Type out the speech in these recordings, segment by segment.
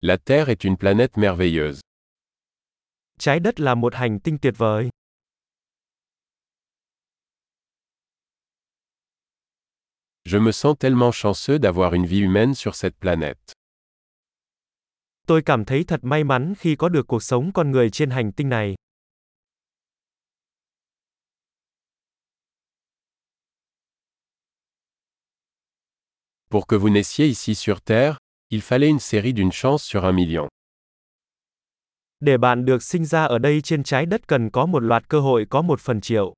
La Terre est une planète merveilleuse. Trái đất là một hành tinh tuyệt vời. Je me sens tellement chanceux d'avoir une vie humaine sur cette planète. Tôi cảm thấy thật may mắn khi có được cuộc sống con người trên hành tinh này. Pour que vous naissiez ici sur Terre, il fallait une série d'une chance sur 1 million. Để bạn được sinh ra ở đây trên trái đất cần có một loạt cơ hội có 1/1.000.000.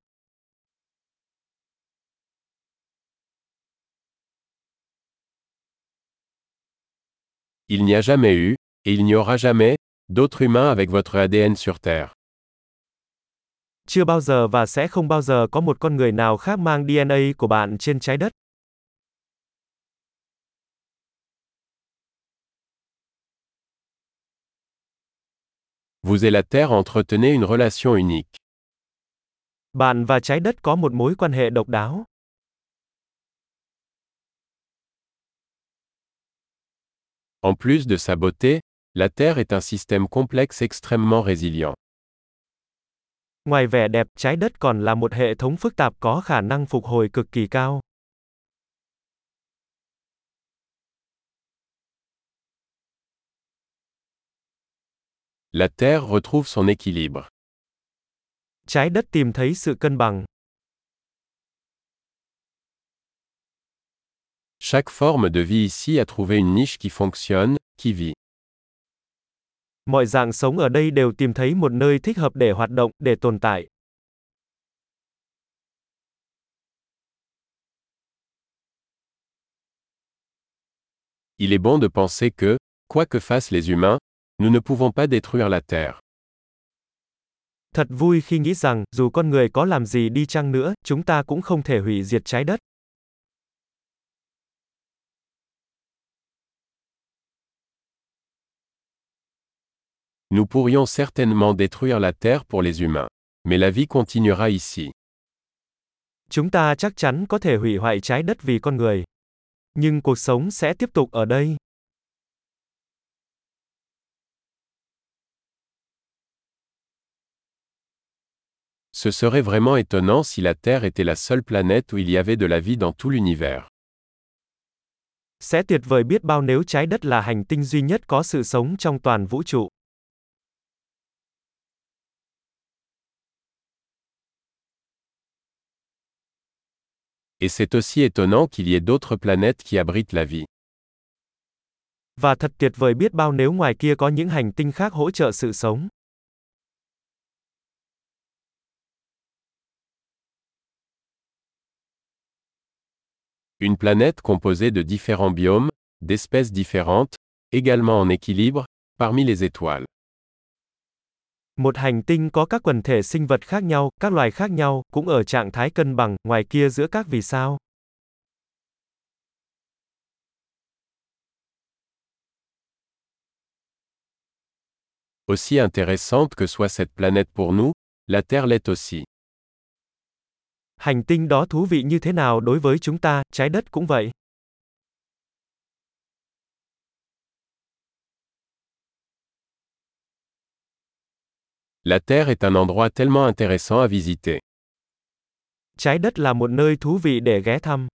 Il n'y a jamais eu, et il n'y aura jamais, d'autres humains avec votre ADN sur Terre. Chưa bao giờ và sẽ không bao giờ có một con người nào khác mang DNA của bạn trên trái đất. Vous et la Terre entretenez une relation unique. Bạn và trái đất có một mối quan hệ độc đáo. En plus de sa beauté, la Terre est un système complexe extrêmement résilient. Ngoài vẻ đẹp, trái đất còn là một hệ thống phức tạp có khả năng phục hồi cực kỳ cao. La Terre retrouve son équilibre. Trái đất tìm thấy sự cân bằng. Chaque forme de vie ici a trouvé une niche qui fonctionne, qui vit. Mọi dạng sống ở đây đều tìm thấy một nơi thích hợp để hoạt động, để tồn tại. Il est bon de penser que, quoi que fassent les humains, nous ne pouvons pas détruire la Terre. Thật vui khi nghĩ rằng, dù con người có làm gì đi chăng nữa, chúng ta cũng không thể hủy diệt trái đất. Nous pourrions certainement détruire la Terre pour les humains. Mais la vie continuera ici. Chúng ta chắc chắn có thể hủy hoại trái đất vì con người. Nhưng cuộc sống sẽ tiếp tục ở đây. Ce serait vraiment étonnant si la Terre était la seule planète où il y avait de la vie dans tout l'univers. Sẽ tuyệt vời biết bao nếu trái đất là hành tinh duy nhất có sự sống trong toàn vũ trụ. Et c'est aussi étonnant qu'il y ait d'autres planètes qui abritent la vie. Và thật tuyệt vời biết bao nếu ngoài kia có những hành tinh khác hỗ trợ sự sống. Une planète composée de différents biomes, d'espèces différentes, également en équilibre, parmi les étoiles. Một hành tinh có các quần thể sinh vật khác nhau, các loài khác nhau, cũng ở trạng thái cân bằng, ngoài kia giữa các vì sao. Aussi intéressante que soit cette planète pour nous, la Terre l'est aussi. Hành tinh đó thú vị như thế nào đối với chúng ta, trái đất cũng vậy. La Terre est un endroit tellement intéressant à visiter. Trái đất là một nơi thú vị để ghé thăm.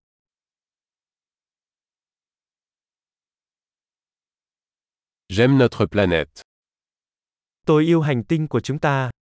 J'aime notre planète. Tôi yêu hành tinh của chúng ta.